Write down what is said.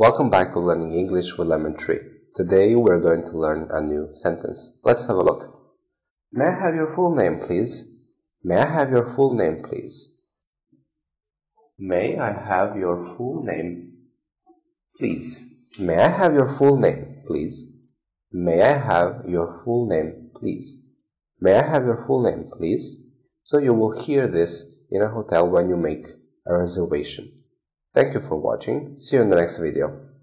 Welcome back to Learning English with Lemon Tree. Today we're going to learn a new sentence. Let's have a look. May I have your full name, please? May I have your full name, please? May I have your full name, please? May I have your full name, please? May I have your full name, please? May I have your full name, please? So you will hear this in a hotel when you make a reservation. Thank you for watching. See you in the next video.